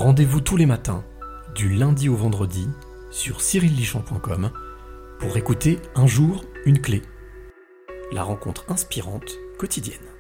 Rendez-vous tous les matins, du lundi au vendredi, sur cyrillichamp.com pour écouter Un jour, une clé. La rencontre inspirante quotidienne.